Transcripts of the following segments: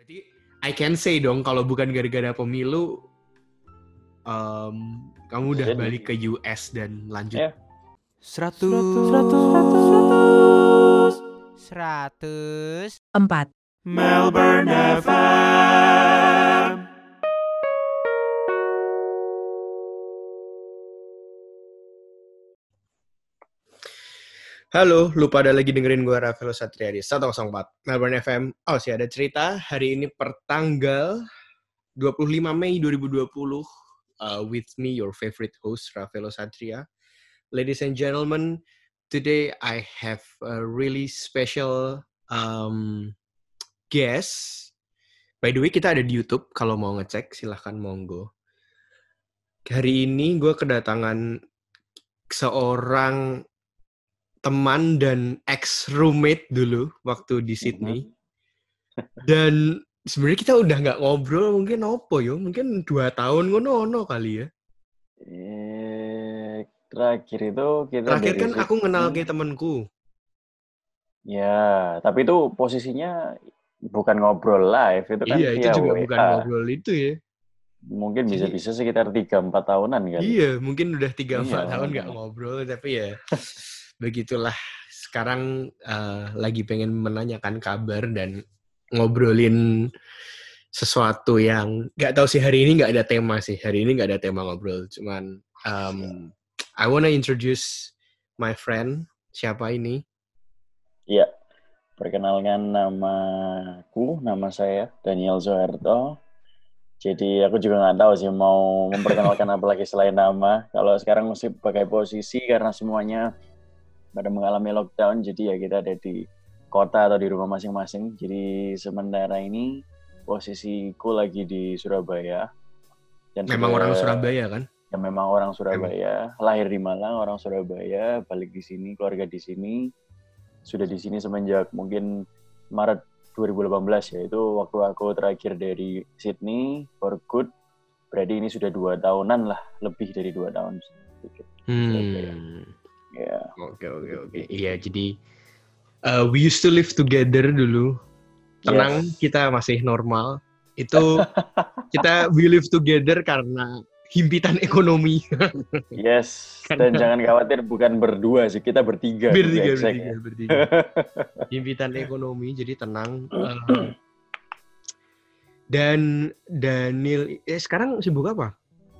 Berarti I can say dong kalau bukan gara-gara pemilu, kamu udah Jadi. balik ke US dan lanjut. Ya. 100 4 Melbourne FM. Halo, lu pada lagi dengerin gue Rafael Satria di 104 Melbourne FM. Oh sih, ada cerita hari ini pertanggal 25 Mei 2020 with me, your favorite host, Rafael Satria. Ladies and gentlemen, today I have a really special guest. By the way, kita ada di YouTube. Kalau mau ngecek, silahkan monggo. Hari ini gue kedatangan seorang teman dan ex-roommate dulu waktu di Sydney. Dan sebenarnya kita udah nggak ngobrol mungkin apa yo? Mungkin 2 tahun ngono kali ya. Terakhir itu kita Terakhir dari kan aku kenal kayak temenku. Ya, tapi itu posisinya bukan ngobrol live, itu kan Iya, itu via juga WA. bukan ngobrol itu ya. Mungkin Jadi- bisa-bisa sekitar 3-4 tahunan kan. Iya, mungkin udah 3-4 Iya, tahun nggak makanya. ngobrol, tapi ya begitulah. Sekarang lagi pengen menanyakan kabar dan ngobrolin sesuatu yang nggak tahu sih, hari ini nggak ada tema sih. Hari ini nggak ada tema ngobrol, cuman I wanna introduce my friend. Siapa ini? Iya. Perkenalkan nama saya Daniel Zoherto. Jadi aku juga nggak tahu sih mau memperkenalkan apa lagi selain nama. Kalau sekarang mesti pakai posisi karena semuanya pada mengalami lockdown, jadi ya kita ada di kota atau di rumah masing-masing. Jadi sementara ini posisiku lagi di Surabaya. Dan Memang orang Surabaya kan? Ya memang orang Surabaya. Lahir di Malang, orang Surabaya. Balik di sini, keluarga di sini. Sudah di sini semenjak mungkin Maret 2018 ya. Itu waktu aku terakhir dari Sydney for good. Berarti ini sudah 2 tahunan lah, lebih dari 2 tahun sedikit. Ya. Oke. Iya, jadi we used to live together dulu. Tenang, Yes. kita masih normal. Itu we live together karena himpitan ekonomi. Yes. Dan jangan khawatir, bukan berdua sih, kita bertiga. Bertiga. Ya. Himpitan ekonomi, jadi tenang. Dan Daniel, sekarang sibuk apa?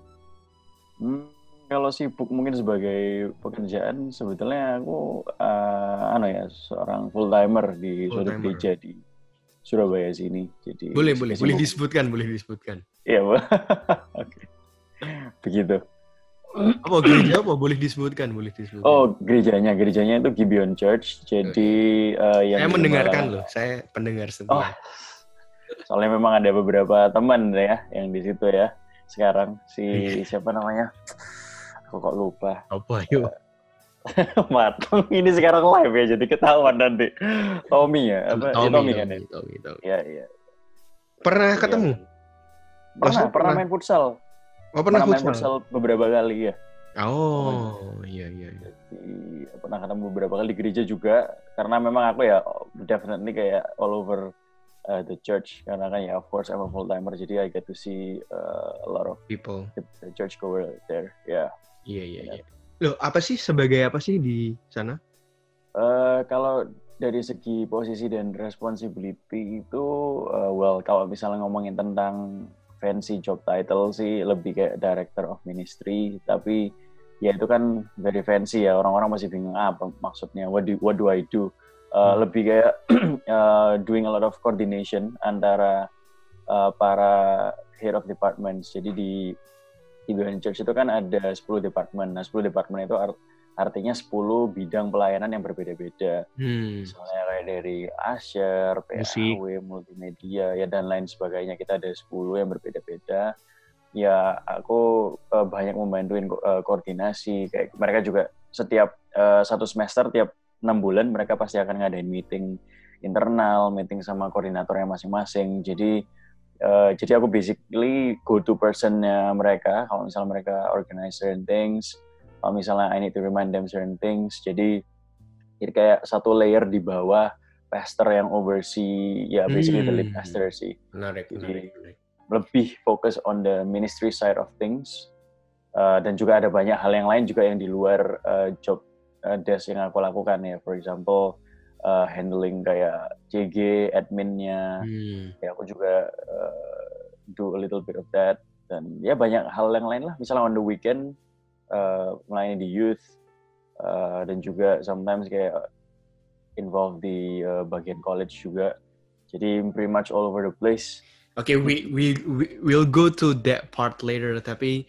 Kalau sibuk mungkin sebagai pekerjaan, sebetulnya aku seorang full timer di suatu gereja di Surabaya sini. Jadi boleh disebutkan. Iya, oke. Begitu. Apa gereja apa? Boleh disebutkan. Oh, gerejanya itu Gibeon Church. Jadi yang saya mendengarkan loh, saya pendengar setia. Soalnya memang ada beberapa teman ya yang di situ ya. Sekarang siapa namanya? Aku kok lupa. Apa yuk? Matang ini sekarang live ya, jadi ketahuan nanti. Tommy ya? Tommy kan ya? Tommy. Iya. Pernah ketemu? Pernah main futsal. Oh, pernah main futsal beberapa kali ya. Oh, iya. Jadi, pernah ketemu beberapa kali di gereja juga, karena memang aku ya definitely kayak all over the church, karena kan ya of course I'm a full timer, jadi I get to see a lot of people, the church goer there. Yeah. Iya. Loh, sebagai apa sih di sana? Kalau dari segi posisi dan responsibility itu, kalau misalnya ngomongin tentang fancy job title sih lebih kayak director of ministry, tapi ya itu kan very fancy ya, orang-orang masih bingung apa maksudnya, what do I do? Lebih kayak doing a lot of coordination antara para head of departments. Jadi di Gibeon Church itu kan ada 10 departemen. Nah, 10 departemen itu artinya 10 bidang pelayanan yang berbeda-beda. Misalnya kayak dari usher, PAW, multimedia, ya dan lain sebagainya. Kita ada 10 yang berbeda-beda. Ya, aku banyak membantuin koordinasi. Kayak mereka juga setiap 1 semester, tiap 6 bulan, mereka pasti akan ngadain meeting internal, meeting sama koordinatornya masing-masing. Jadi aku basically go-to person-nya mereka. Kalau misalnya mereka organize certain things, kalau misalnya I need to remind them certain things. Jadi kayak satu layer di bawah pastor yang oversee, ya basically the lead pastor sih. Menarik. Lebih fokus on the ministry side of things. Dan juga ada banyak hal yang lain juga yang di luar job desk yang aku lakukan ya. For example, handling kayak CG, adminnya. Ya aku juga do a little bit of that. Dan ya banyak hal yang lain lah. Misalnya on the weekend, melayani di youth. Dan juga sometimes kayak involved di bagian college juga. Jadi pretty much all over the place. Okay, we'll go to that part later. Tapi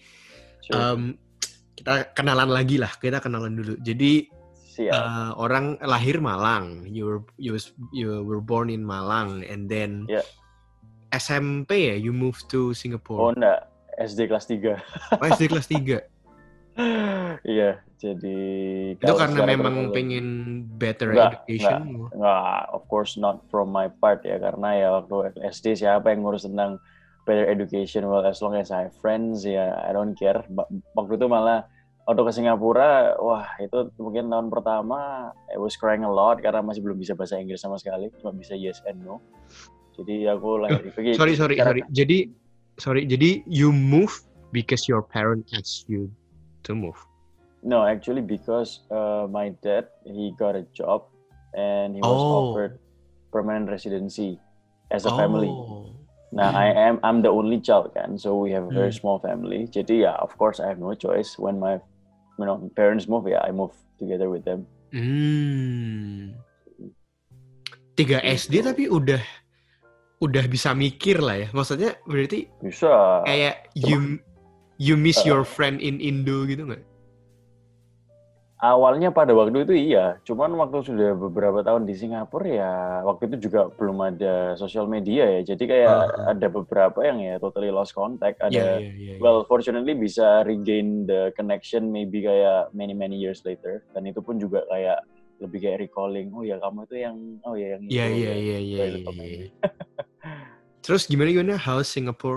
kita kenalan lagi lah. Kita kenalan dulu. Jadi orang lahir Malang. You were born in Malang, and then SMP ya, you moved to Singapore. Oh enggak, SD kelas 3. Oh, SD kelas 3. Iya, jadi itu karena memang pengen better education? Enggak, of course not from my part ya, karena ya waktu SD siapa yang ngurus tentang better education? Well, as long as I have friends ya, I don't care. Waktu itu malah waktu ke Singapura, wah itu mungkin tahun pertama I was crying a lot karena masih belum bisa bahasa Inggris sama sekali, cuma bisa yes and no. Jadi aku lahir pergi. Sorry. Jadi you move because your parent asked you to move? No, actually because my dad, he got a job and he was offered permanent residency as a family. Nah, I'm the only child kan, so we have a very small family. Jadi ya, of course I have no choice. When my parents move, I move together with them. 3 SD tapi udah bisa mikir lah ya. Maksudnya berarti bisa. Kayak you miss your friend in Indo gitu nggak? Awalnya pada waktu itu iya, cuman waktu sudah beberapa tahun di Singapura ya, waktu itu juga belum ada sosial media ya, jadi kayak ada beberapa yang ya totally lost contact. Ada, well fortunately bisa regain the connection maybe kayak many years later, dan itu pun juga kayak lebih kayak recalling, oh ya kamu itu yang itu. Iya. Terus gimana how's Singapore?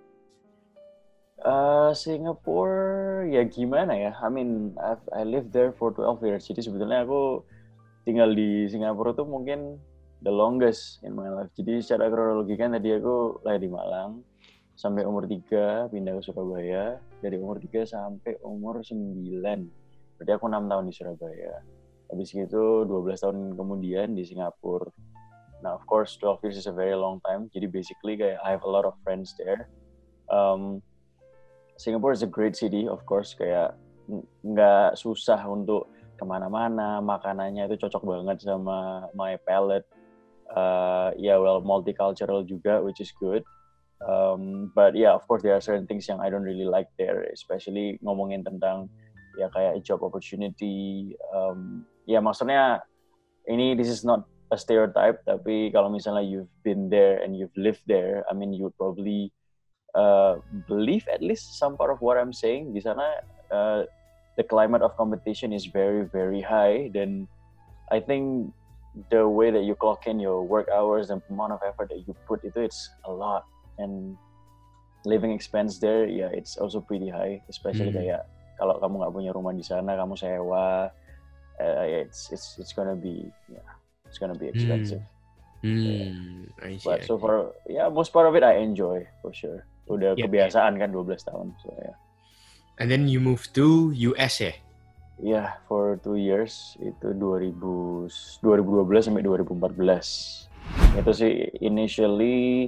Singapore ya gimana ya? I mean, I lived there for 12 years. Jadi sebetulnya aku tinggal di Singapura tuh mungkin the longest in my life. Jadi secara kronologi kan tadi aku lahir di Malang sampai umur 3 pindah ke Surabaya. Dari umur 3 sampai umur 9. Berarti aku 6 tahun di Surabaya. Habis itu 12 tahun kemudian di Singapura. Nah, of course 12 years is a very long time. Jadi basically kayak I have a lot of friends there. Singapore is a great city, of course. Kayak nggak susah untuk kemana-mana. Makanannya itu cocok banget sama my palate. Multicultural juga, which is good. But yeah, of course there are certain things yang I don't really like there, especially ngomongin tentang ya kayak job opportunity. Maksudnya this is not a stereotype, tapi kalau misalnya you've been there and you've lived there, I mean you would probably believe at least some part of what I'm saying. Di sana the climate of competition is very very high, then I think the way that you clock in your work hours and amount of effort that you put it's a lot, and living expense there it's also pretty high, especially kayak kalau kamu nggak punya rumah di sana, kamu sewa, it's gonna be expensive. But so far most part of it I enjoy for sure. Udah kebiasaan kan 12 tahun. So yeah. And then you moved to US ya? Yeah, for 2 years. Itu 2012 sampai 2014. Itu sih initially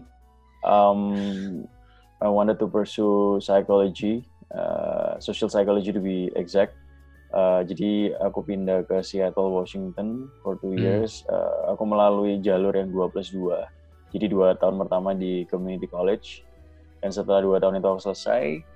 I wanted to pursue psychology, social psychology to be exact. Jadi aku pindah ke Seattle, Washington for 2 years. Aku melalui jalur yang 2+2. Jadi 2 tahun pertama di community college. Dan setelah 2 tahun itu aku selesai,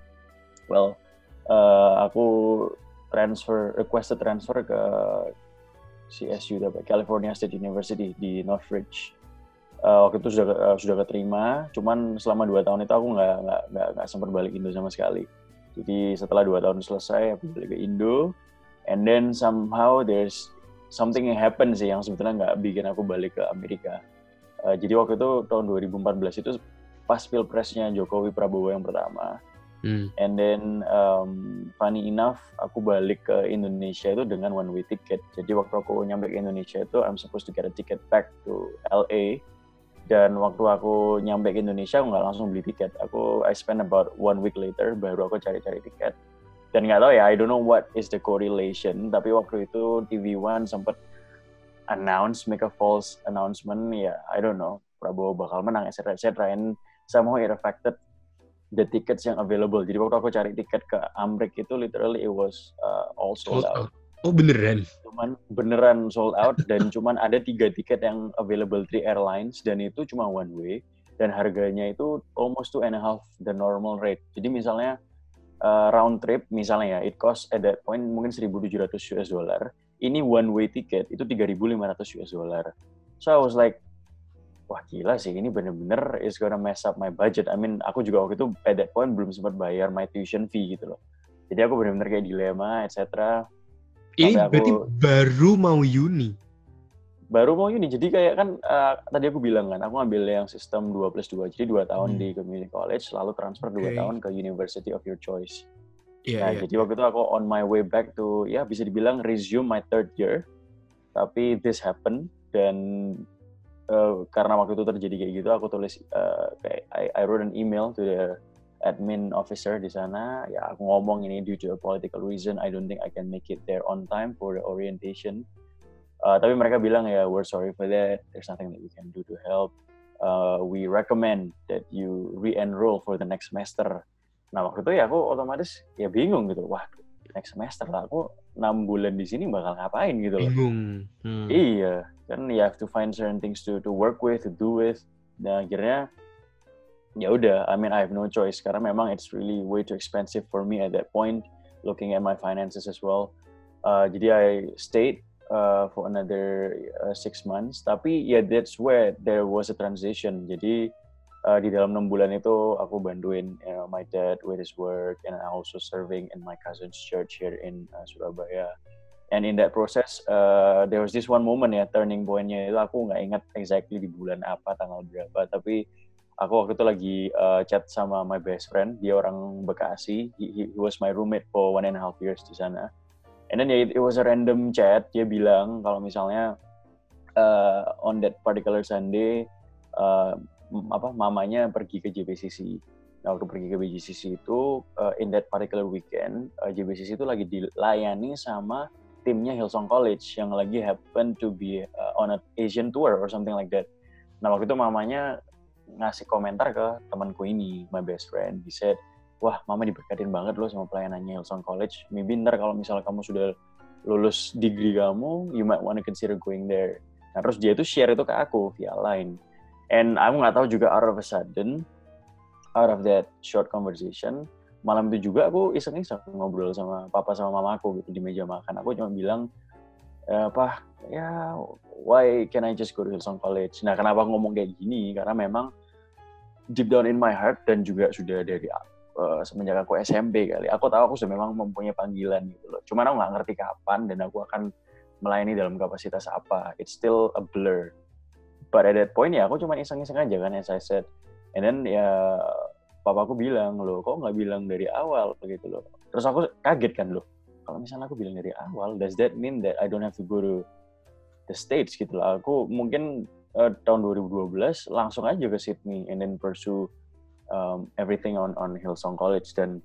aku requested transfer ke CSU, California State University di Northridge. Waktu itu sudah keterima, cuman selama 2 tahun itu aku nggak sempat balik Indo sama sekali. Jadi setelah 2 tahun selesai, aku balik ke Indo, and then somehow there's something yang happen sih yang sebetulnya nggak bikin aku balik ke Amerika. Jadi waktu itu tahun 2014 itu pas pilpresnya Jokowi Prabowo yang pertama, And then funny enough, aku balik ke Indonesia itu dengan one way ticket. Jadi waktu aku nyampe ke Indonesia itu, I'm supposed to get a ticket back to LA. Dan waktu aku nyampe ke Indonesia, aku nggak langsung beli tiket. I spent about 1 week later, baru aku cari-cari tiket. Dan nggak tahu ya, I don't know what is the correlation. Tapi waktu itu TV One sempat make a false announcement. Ya, I don't know, Prabowo bakal menang, etc. And somehow it affected the tickets yang available. Jadi waktu aku cari tiket ke Amrik itu literally it was all sold out. Oh beneran? Cuman beneran sold out dan cuman ada 3 tiket yang available 3 airlines dan itu cuma one way dan harganya itu almost 2.5 the normal rate. Jadi misalnya round trip misalnya ya it cost at that point mungkin $1,700 US dollar. Ini one way ticket itu $3,500 US dollar. So I was like, wah gila sih, ini bener-bener is gonna mess up my budget. I mean, aku juga waktu itu at that point belum sempat bayar my tuition fee gitu loh. Jadi aku bener-bener kayak dilema, etc. Ini berarti baru mau uni? Baru mau uni, jadi kayak kan tadi aku bilang kan, aku ngambil yang sistem 2+2, jadi 2 tahun di community college, lalu transfer 2 tahun ke university of your choice. Jadi waktu itu aku on my way back to, ya bisa dibilang resume my 3rd year, tapi this happened, dan karena waktu itu terjadi kayak gitu, aku tulis I wrote an email to the admin officer di sana. Ya aku ngomong ini due to a political reason, I don't think I can make it there on time for the orientation. Tapi mereka bilang ya we're sorry for that. There's nothing that we can do to help. We recommend that you re-enroll for the next semester. Nah waktu itu ya aku otomatis ya bingung gitu. Wah next semester lah, aku 6 bulan di sini bakal ngapain gitu loh. Bingung. Iya, kan you have to find certain things to work with, to do with. Nah akhirnya ya udah, I mean I have no choice karena memang it's really way too expensive for me at that point, looking at my finances as well. Jadi I stayed for another 6 months. Tapi ya that's where there was a transition. Jadi di dalam 6 bulan itu aku bantuin my dad with his work, and I also serving in my cousin's church here in Surabaya. And in that process, there was this one moment ya, turning point-nya itu aku nggak ingat exactly di bulan apa, tanggal berapa, tapi aku waktu itu lagi chat sama my best friend, dia orang Bekasi, he was my roommate for 1.5 years di sana. And then it was a random chat, dia bilang kalau misalnya on that particular Sunday, mamanya pergi ke JBCC. Nah, waktu pergi ke JBCC itu, in that particular weekend, JBCC itu lagi dilayani sama timnya Hillsong College yang lagi happen to be on an Asian tour or something like that. Nah, waktu itu mamanya ngasih komentar ke temanku ini, my best friend. He said, wah mama diberkatin banget loh sama pelayanannya Hillsong College. Maybe ntar kalau misalnya kamu sudah lulus degree kamu, you might want to consider going there. Nah terus dia itu share itu ke aku via line. And aku nggak tahu juga out of a sudden, out of that short conversation, malam itu juga aku iseng-iseng ngobrol sama papa sama mamaku gitu di meja makan. Aku cuma bilang, Pak, ya why can I just go to Hillsong College? Nah kenapa aku ngomong kayak gini? Karena memang deep down in my heart dan juga sudah dari semenjak aku SMP kali, aku tahu aku sudah memang mempunyai panggilan gitu loh. Cuman aku nggak ngerti kapan dan aku akan melayani dalam kapasitas apa. It's still a blur. But at that point ya aku cuma iseng-iseng aja kan, as I said. And then ya papaku bilang, loh kok nggak bilang dari awal gitu loh. Terus aku kaget kan loh. Kalau misalnya aku bilang dari awal, does that mean that I don't have to go to the States gitu loh. Aku mungkin tahun 2012 langsung aja ke Sydney and then pursue everything on Hillsong College. Dan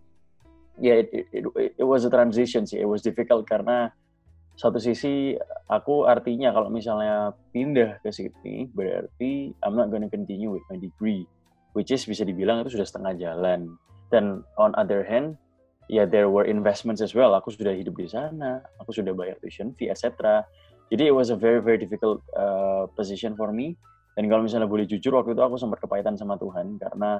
it was a transition sih. It was difficult karena satu sisi aku artinya kalau misalnya pindah ke Sydney berarti I'm not gonna continue with my degree, which is bisa dibilang itu sudah setengah jalan. Dan on other hand, there were investments as well. Aku sudah hidup di sana, aku sudah bayar tuition fee, etc. Jadi it was a very very difficult position for me. Dan kalau misalnya boleh jujur, waktu itu aku sempat kepahitan sama Tuhan karena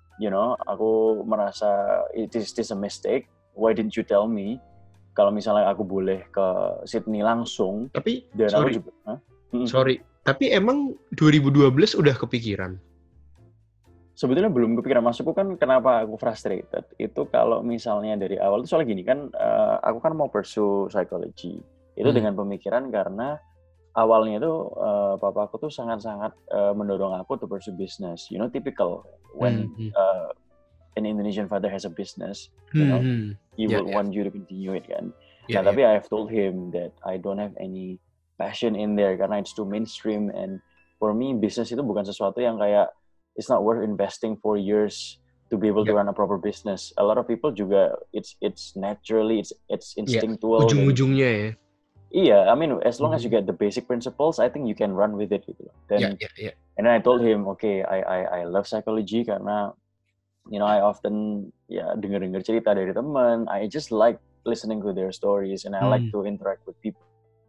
aku merasa it is a mistake. Why didn't you tell me? Kalau misalnya aku boleh ke Sydney langsung. Tapi dan sorry, aku juga, sorry. Tapi emang 2012 udah kepikiran? Sebetulnya belum kepikiran. Maksudku kan kenapa aku frustrated itu kalau misalnya dari awal itu soalnya gini kan, aku kan mau pursue psychology itu dengan pemikiran karena awalnya itu papaku tuh sangat-sangat mendorong aku to pursue business, typical when an Indonesian father has a business, you know, he will want you to continue it kan. Nah, tapi I've told him that I don't have any passion in there karena it's too mainstream, and for me business itu bukan sesuatu yang kayak it's not worth investing for years to be able to run a proper business. A lot of people juga it's naturally it's instinctual. Ujung-ujungnya ya. Iya, I mean as long as you get the basic principles, I think you can run with it gitu. And then I told him, okay, I love psychology karena you know I often dengar cerita dari teman. I just like listening to their stories and I like to interact with people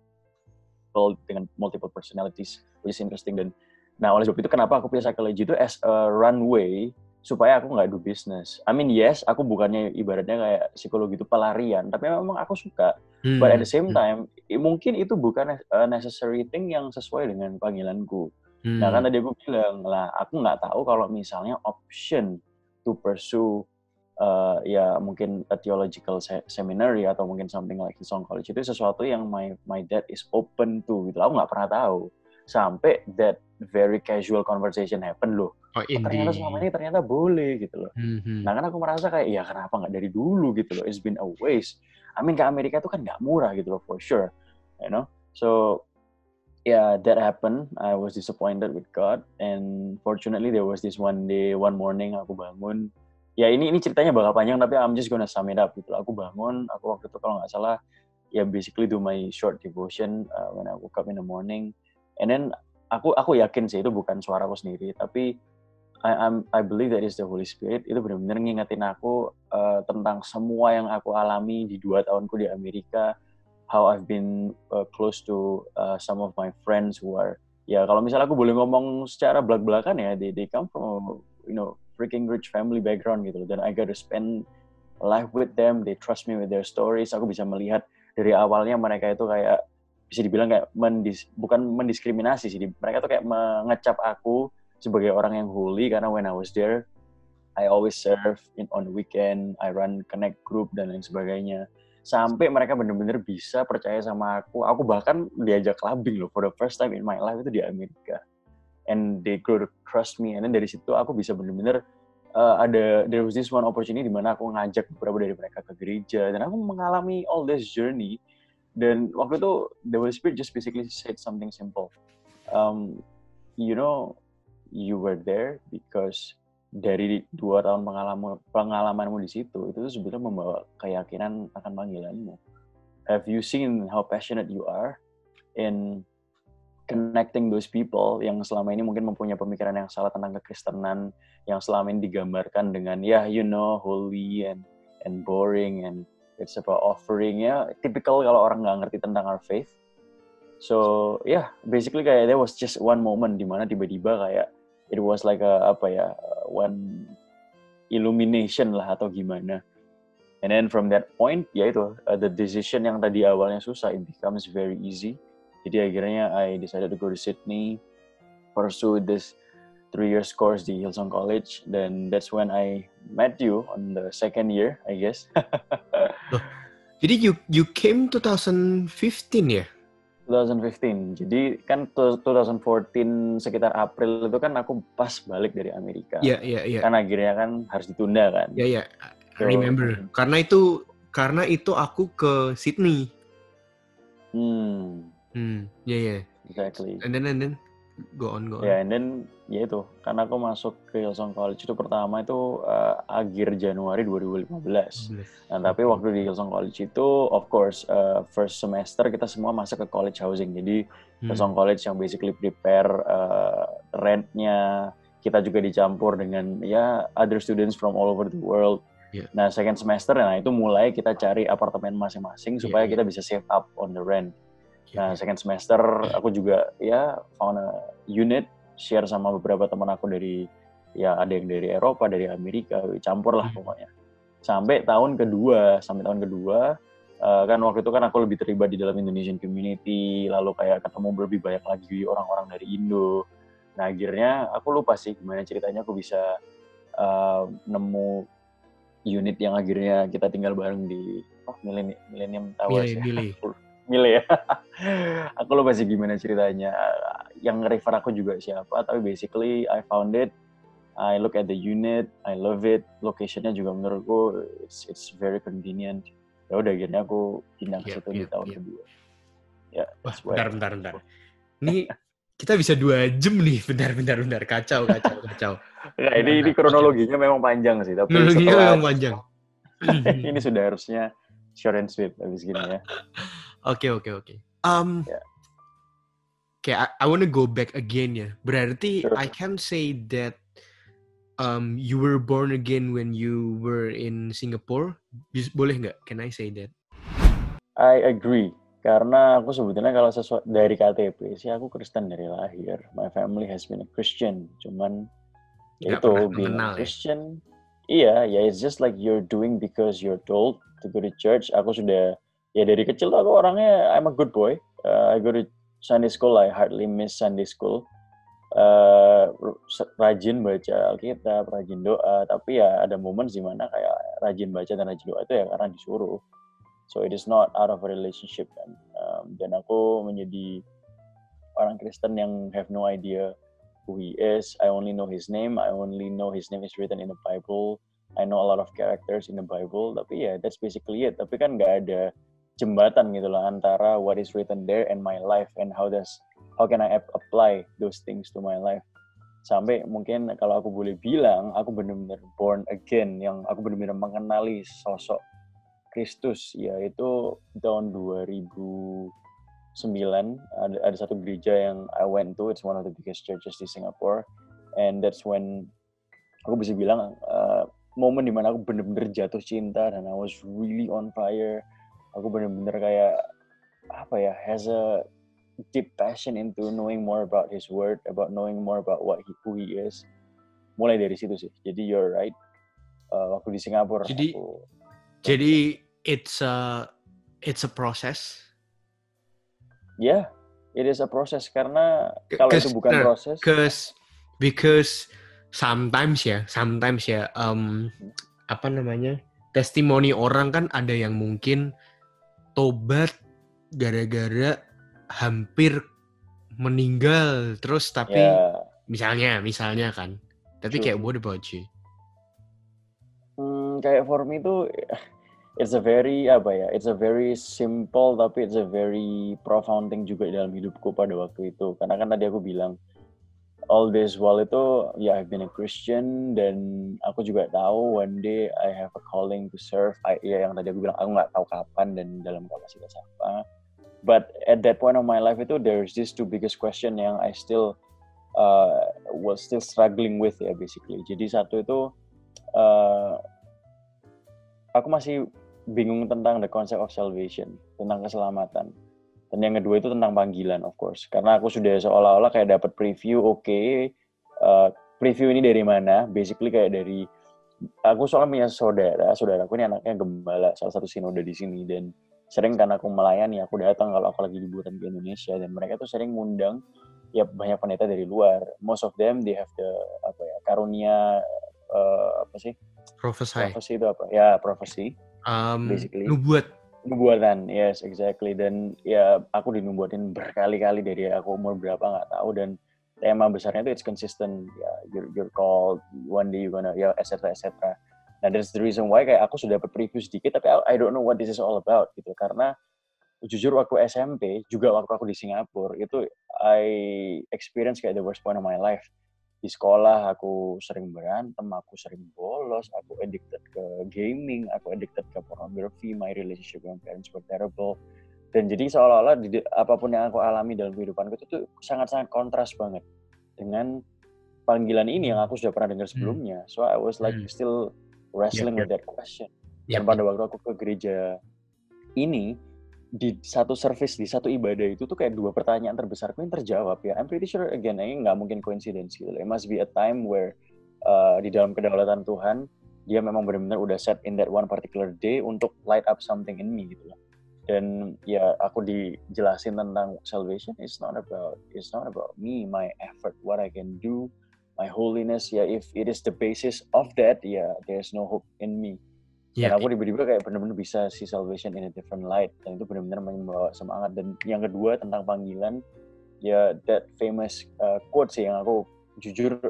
dengan multiple personalities, which is interesting. Dan nah oleh sebab itu kenapa aku pilih psychology itu as a runway supaya aku nggak do business. I mean yes, aku bukannya ibaratnya kayak psikologi itu pelarian, tapi memang aku suka. But at the same time, mungkin itu bukan a necessary thing yang sesuai dengan panggilanku. Nah kan tadi aku bilang lah, aku nggak tahu kalau misalnya option to pursue ya mungkin a theological seminary atau mungkin something like Hillsong College itu sesuatu yang my dad is open to gitu. Aku nggak pernah tahu sampai that very casual conversation happen loh. Ternyata selama ini ternyata boleh gitu loh. Nah kan aku merasa kayak ya kenapa nggak dari dulu gitu loh. It's been a waste. I mean ke Amerika itu kan nggak murah gitu loh for sure, you know. So yeah, that happened. I was disappointed with God, and fortunately there was this one morning aku bangun. Ya ini ceritanya bakal panjang tapi I'm just gonna sum it up gitu loh. Aku bangun, aku waktu itu kalau nggak salah ya basically do my short devotion when I woke up in the morning, and then aku yakin sih itu bukan suara aku sendiri, tapi I believe that is the Holy Spirit. Itu benar-benar ngingetin aku tentang semua yang aku alami di 2 tahunku di Amerika, how I've been close to some of my friends who are ya kalau misalnya aku boleh ngomong secara belak-belakan ya, they come from you know freaking rich family background gitu loh, dan I got to spend life with them. They trust me with their stories. Aku bisa melihat dari awalnya mereka itu kayak bisa dibilang kayak bukan mendiskriminasi sih, mereka tuh kayak mengecap aku sebagai orang yang holy karena when I was there I always serve on the weekend, I run connect group dan lain sebagainya. Sampai mereka benar-benar bisa percaya sama aku. Aku bahkan diajak clubbing loh for the first time in my life itu di Amerika. And they grow to trust me. And then dari situ aku bisa benar-benar there was this one opportunity di mana aku ngajak beberapa dari mereka ke gereja dan aku mengalami all this journey. Dan waktu itu the Holy Spirit just basically said something simple. You know, you were there because dari 2 tahun pengalamanmu di situ itu sebenarnya membawa keyakinan akan panggilanmu. Have you seen how passionate you are in connecting those people yang selama ini mungkin mempunyai pemikiran yang salah tentang kekristenan, yang selama ini digambarkan dengan you know holy and boring and it's about offering ya, typical kalau orang nggak ngerti tentang our faith. So basically kayak there was just one moment di mana tiba-tiba kayak it was like one illumination lah atau gimana. And then from that point, the decision yang tadi awalnya susah, it becomes very easy. Jadi akhirnya I decided to go to Sydney, pursue this 3 years course di Hillsong College. Then that's when I met you on the second year, I guess. Jadi you came 2015 ya? 2015. Jadi kan 2014 sekitar April itu kan aku pas balik dari Amerika. Iya. Kan akhirnya kan harus ditunda kan. Iya. I remember. Karena itu aku ke Sydney. Iya. Exactly. And then go on. Ya, and then itu karena aku masuk ke Hillsong College itu pertama itu akhir Januari 2015. Nah, tapi waktu di Hillsong College itu of course first semester kita semua masuk ke college housing. Jadi Hillsong College yang basically prepare rentnya, kita juga dicampur dengan other students from all over the world. Yeah. Nah, second semester itu mulai kita cari apartemen masing-masing supaya kita bisa save up on the rent. Nah, second semester aku juga found a unit, share sama beberapa teman aku dari ada yang dari Eropa, dari Amerika, campur lah pokoknya. Sampai tahun kedua kan waktu itu kan aku lebih terlibat di dalam Indonesian community, lalu kayak ketemu lebih banyak lagi orang-orang dari Indo. Nah, akhirnya aku lupa sih gimana ceritanya aku bisa nemu unit yang akhirnya kita tinggal bareng di Millennium Towers. Mile ya. Aku lupa sih gimana ceritanya. Yang refer aku juga siapa, tapi basically I found it I look at the unit, I love it. Location-nya juga menurutku it's very convenient. Ya udah akhirnya aku pindah ke situ di tahun kedua. Ya, Wah, bentar. Bentar. Ini kita bisa 2 jam nih. Bentar. Kacau. Nah, ini kronologinya memang panjang sih, tapi Kronologinya setelah memang panjang. ini sudah harusnya short and sweet habis gini ya. Oke. Yeah. Okay, I want to go back again ya. Berarti Sure. I can say that you were born again when you were in Singapore. Boleh nggak? Can I say that? I agree. Karena aku sebetulnya kalau sesuatu dari KTP sih aku Kristen dari lahir. My family has been a Christian. Cuman Nggak itu pernah being mengenal a Christian. Iya, it's just like you're doing because you're told to go to church. Aku sudah dari kecil tuh aku orangnya I'm a good boy. I go to Sunday school. I hardly miss Sunday school. Rajin baca Alkitab, rajin doa. Tapi ya ada momen di mana kayak rajin baca dan rajin doa itu ya karena disuruh. So it is not out of a relationship kan. Dan aku menjadi orang Kristen yang have no idea who he is. I only know his name. I only know his name is written in the Bible. I know a lot of characters in the Bible. Tapi ya that's basically it. Tapi kan nggak ada jembatan gitu lah antara what is written there and my life and how can I apply those things to my life. Sampai mungkin kalau aku boleh bilang aku benar-benar born again, yang aku benar-benar mengenali sosok Kristus, yaitu tahun 2009 ada satu gereja yang I went to. It's one of the biggest churches di Singapore, and that's when aku bisa bilang momen dimana aku benar-benar jatuh cinta dan I was really on fire. Aku benar-benar kayak has a deep passion into knowing more about His Word, about knowing more about who He is. Mulai dari situ sih. Jadi you're right. Waktu di Singapura. Jadi it's a process. Yeah, it is a process karena kalau itu bukan proses. Because sometimes ya, testimoni orang kan ada yang mungkin tobat gara-gara hampir meninggal terus tapi misalnya kan. Tapi kayak what about you? Kayak for me itu it's a very simple tapi it's a very profound thing juga dalam hidupku pada waktu itu. Karena kan tadi aku bilang all this while itu I've been a Christian dan aku juga tahu one day I have a calling to serve. Yang tadi aku bilang aku nggak tahu kapan dan dalam kapasitas apa. But at that point of my life itu there's these two biggest question yang I still was still struggling with basically. Jadi satu itu aku masih bingung tentang the concept of salvation, tentang keselamatan. Dan yang kedua itu tentang panggilan, of course. Karena aku sudah seolah-olah kayak dapat preview, preview ini dari mana? Basically kayak dari, aku soalnya punya saudaraku ini anaknya gembala, salah satu sinode di sini. Dan sering kan aku melayani, aku datang kalau aku lagi liburan ke Indonesia. Dan mereka tuh sering ngundang, banyak pendeta dari luar. Most of them, they have the, karunia, Prophecy itu apa? Ya, prophecy. Basically. Nubuatan, yes, exactly. Dan aku dinubuatin berkali-kali dari aku umur berapa nggak tahu. Dan tema besarnya itu it's consistent. You're called, one day you're gonna, etc. Nah, that's the reason why kayak aku sudah dapat preview sedikit, tapi I don't know what this is all about gitu. Karena jujur waktu SMP, juga waktu aku di Singapura, itu I experience kayak the worst point of my life. Di sekolah aku sering berantem, aku sering bolos, aku addicted ke gaming, aku addicted ke pornography, my relationship with my parents were terrible. Dan jadi seolah-olah apapun yang aku alami dalam kehidupanku itu sangat-sangat kontras banget dengan panggilan ini yang aku sudah pernah dengar sebelumnya. So I was like still wrestling with that question. Dan pada waktu aku ke gereja ini, di satu service, di satu ibadah itu tuh kayak 2 pertanyaan terbesarku yang terjawab ya. I'm pretty sure again, ini nggak mungkin coincidence gitu. It must be a time where di dalam kedaulatan Tuhan, dia memang benar-benar udah set in that one particular day untuk light up something in me gitu loh. Dan aku dijelasin tentang salvation, it's not about me, my effort, what I can do, my holiness. If it is the basis of that, there's no hope in me. Dan aku tiba-tiba kayak benar-benar bisa see salvation in a different light. Dan itu benar-benar membawa semangat. Dan yang kedua tentang panggilan, that famous quote sih yang aku jujur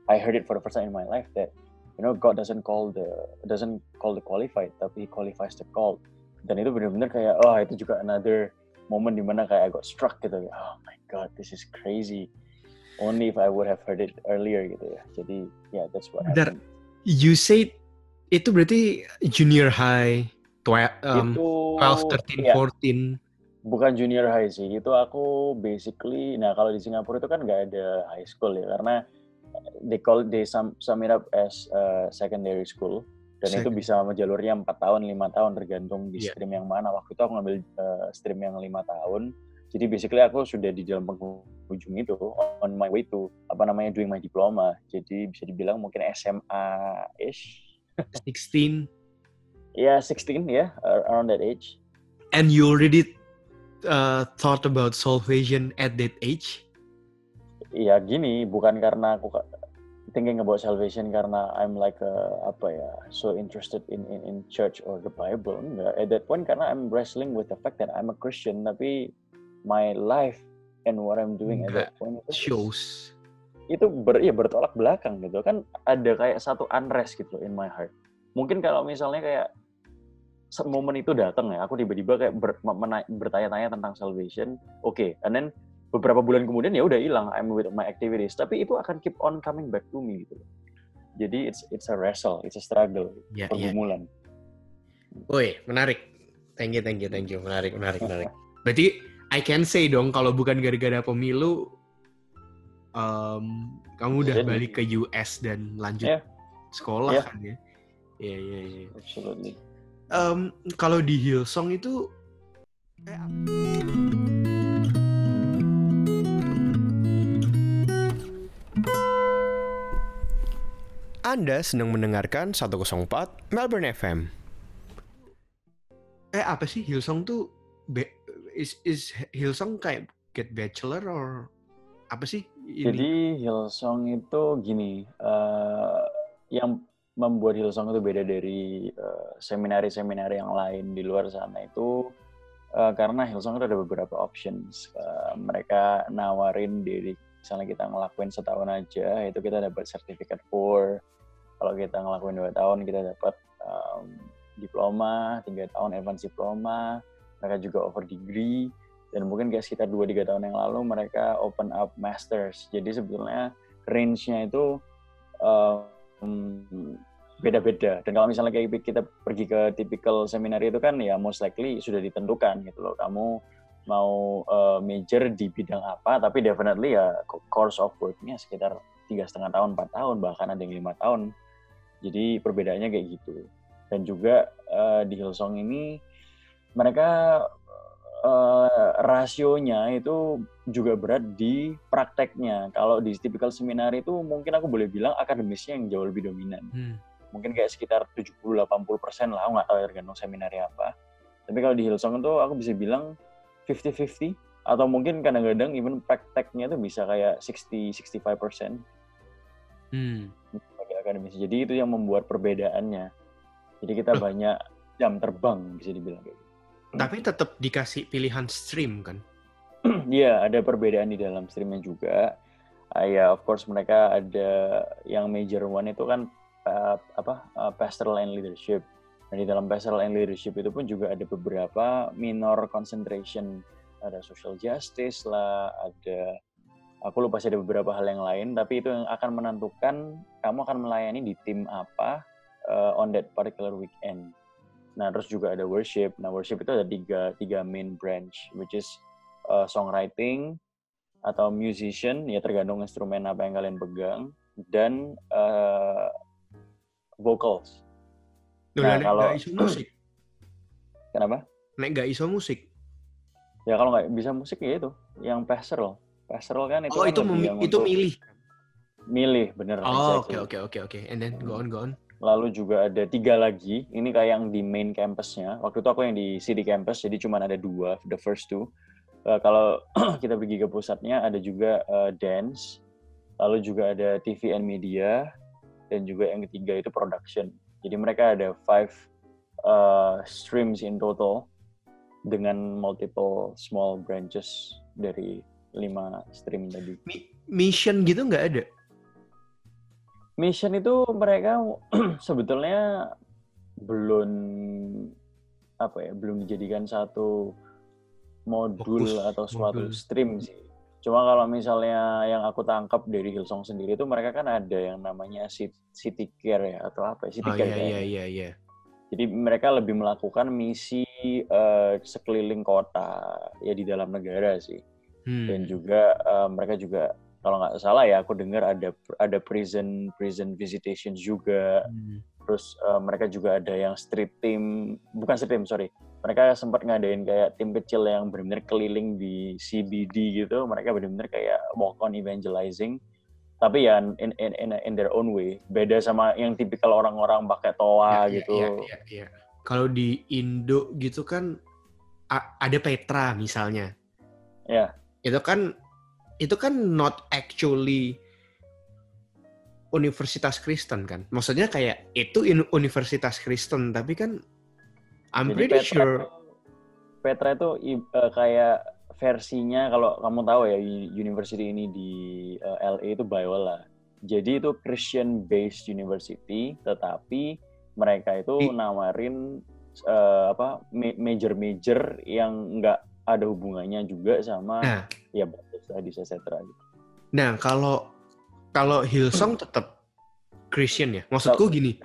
I heard it for the first time in my life that God doesn't call the qualified, tapi He qualifies the called. Dan itu benar-benar kayak itu juga another moment dimana kayak I got struck gitu. Oh my God, this is crazy. Only if I would have heard it earlier gitu ya. Jadi that's what happened. You said itu berarti junior high, 12, 13, 14. Bukan junior high sih. Itu aku basically, kalau di Singapura itu kan nggak ada high school ya, karena they sum it up as secondary school. Dan itu bisa sama jalurnya 4 tahun, 5 tahun tergantung di stream yang mana. Waktu itu aku ngambil stream yang 5 tahun. Jadi basically aku sudah di dalam penghujung itu, on my way to doing my diploma. Jadi bisa dibilang mungkin SMA-ish. 16. Yeah, 16 around that age. And you already thought about salvation at that age? Iya gini, bukan karena aku thinking about salvation karena I'm like so interested in church or the Bible. Enggak. At that point karena I'm wrestling with the fact that I'm a Christian, tapi my life and what I'm doing at that point itu bertolak belakang gitu kan. Ada kayak satu unrest gitu in my heart. Mungkin kalau misalnya kayak momen itu datang ya, aku tiba-tiba kayak bertanya-tanya tentang salvation, and then beberapa bulan kemudian ya udah hilang, I'm with my activities, tapi itu akan keep on coming back to me gitu. Jadi it's a wrestle, it's a struggle, pergumulan. Woi, menarik. Thank you. Menarik. Berarti I can say dong kalau bukan gara-gara pemilu, kamu udah balik ke US dan lanjut sekolah kan ya? Iya. Absolutely. Kalau di Hillsong itu Anda sedang mendengarkan 104 Melbourne FM. Apa sih Hillsong tuh? Is Hillsong kayak get bachelor or apa sih ini? Jadi Hillsong itu gini, yang membuat Hillsong itu beda dari seminari-seminari yang lain di luar sana itu karena Hillsong itu ada beberapa options. Mereka nawarin diri, misalnya kita ngelakuin setahun aja, itu kita dapat sertifikat 4. Kalau kita ngelakuin 2 tahun, kita dapat diploma, 3 tahun advance diploma. Mereka juga offer degree. Dan mungkin kayak sekitar 2-3 tahun yang lalu, mereka open up masters. Jadi sebetulnya range-nya itu beda-beda. Dan kalau misalnya kayak kita pergi ke typical seminari itu kan ya most likely sudah ditentukan gitu loh. Kamu mau major di bidang apa, tapi definitely ya course of work-nya sekitar 3,5 tahun, 4 tahun, bahkan ada yang 5 tahun. Jadi perbedaannya kayak gitu. Dan juga di Hillsong ini mereka rasionya itu juga berat di prakteknya. Kalau di typical seminar itu mungkin aku boleh bilang akademisnya yang jauh lebih dominan. Mungkin kayak sekitar 70-80% lah, aku nggak tahu ya tergantung seminari apa. Tapi kalau di Hillsong itu aku bisa bilang 50-50, atau mungkin kadang-kadang even prakteknya itu bisa kayak 60-65%. Bagi akademis. Jadi itu yang membuat perbedaannya. Jadi kita banyak jam terbang bisa dibilang kayak gitu. Tapi tetap dikasih pilihan stream kan? Iya, ada perbedaan di dalam streamnya juga. Ya, of course mereka ada yang major one itu kan pastoral and leadership. Dan di dalam pastoral and leadership itu pun juga ada beberapa minor concentration. Ada social justice lah, ada aku lupa sih ada beberapa hal yang lain, tapi itu yang akan menentukan kamu akan melayani di tim apa on that particular weekend. Nah, terus juga ada worship. Nah, worship itu ada tiga main branch, which is songwriting atau musician, ya tergantung instrumen apa yang kalian pegang, dan vocals. Nah, kalau nggak iso musik. Kenapa? Nggak iso musik. Ya kalau nggak bisa musik ya itu, yang pastoral. Pastoral kan itu. Oh, kan itu milih. Milih, bener. Oh, exactly. Oke. And then go on. Lalu juga ada 3 lagi. Ini kayak yang di main campusnya. Waktu itu aku yang di CD campus, jadi cuma ada 2, the first 2. Kalau kita pergi ke pusatnya, ada juga dance. Lalu juga ada TV and media. Dan juga yang ketiga itu production. Jadi mereka ada 5 streams in total dengan multiple small branches dari 5 stream tadi. Mission gitu nggak ada? mission itu mereka sebetulnya belum belum dijadikan satu modul atau suatu stream sih. Cuma kalau misalnya yang aku tangkap dari Hillsong sendiri itu mereka kan ada yang namanya city care ya atau apa? City care kayaknya. Iya. Jadi mereka lebih melakukan misi sekeliling kota ya di dalam negara sih. Dan juga mereka juga kalau nggak salah ya aku dengar ada prison visitations juga. Terus mereka juga ada yang bukan street team, sorry. Mereka sempat ngadain kayak tim kecil yang benar-benar keliling di CBD gitu. Mereka benar-benar kayak walk on evangelizing. Tapi ya in their own way. Beda sama yang tipikal orang-orang pakai toa gitu. Iya. Kalau di Indo gitu kan ada Petra misalnya. Ya. Itu kan not actually universitas Kristen kan. Maksudnya kayak itu universitas Kristen tapi kan I'm Jadi pretty sure Petra itu kayak versinya kalau kamu tahu ya university ini di LA itu Biola. Jadi itu Christian based university tetapi mereka itu nawarin major yang nggak ada hubungannya juga sama ya studies etc. gitu. Nah, kalau Hillsong tetap Christian ya. Maksudku gini.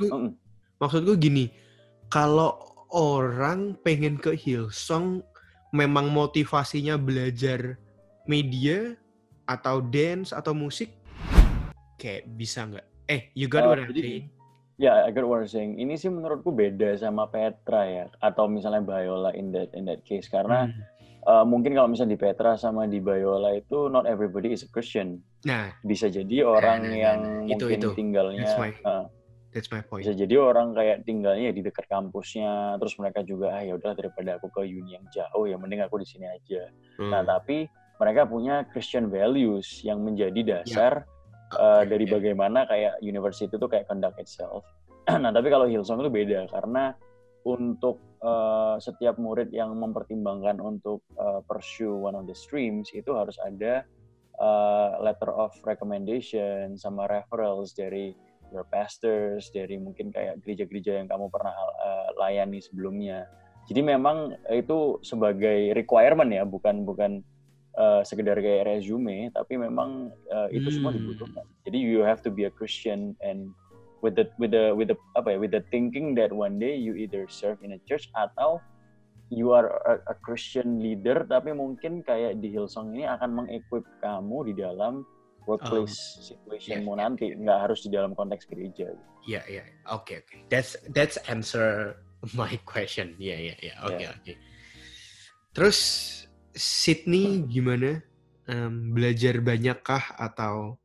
Kalau orang pengen ke Hillsong memang motivasinya belajar media atau dance atau musik kayak bisa nggak? You got what I'm saying? Ya, I got what I'm saying. Ini sih menurutku beda sama Petra ya atau misalnya Biola in that case karena mungkin kalau misalnya di Petra sama di Biola itu not everybody is a Christian. Nah, bisa jadi orang yang mungkin tinggalnya That's my point. Bisa jadi orang kayak tinggalnya di dekat kampusnya, terus mereka juga ya udahlah daripada aku ke uni yang jauh ya mending aku di sini aja. Nah, tapi mereka punya Christian values yang menjadi dasar dari bagaimana kayak university itu kayak conduct itself. Nah, tapi kalau Hillsong itu beda karena untuk setiap murid yang mempertimbangkan untuk pursue one of the streams itu harus ada letter of recommendation sama referrals dari your pastors, dari mungkin kayak gereja-gereja yang kamu pernah layani sebelumnya. Jadi memang itu sebagai requirement ya, bukan sekedar kayak resume, tapi memang itu semua dibutuhkan. Jadi you have to be a Christian and with the thinking that one day you either serve in a church atau you are a Christian leader, tapi mungkin kayak di Hillsong ini akan mengequip kamu di dalam workplace situationmu nanti, nggak harus di dalam konteks gereja. Iya. Oke. That's answer my question. Iya. Oke. Terus Sydney gimana? Belajar banyakkah atau?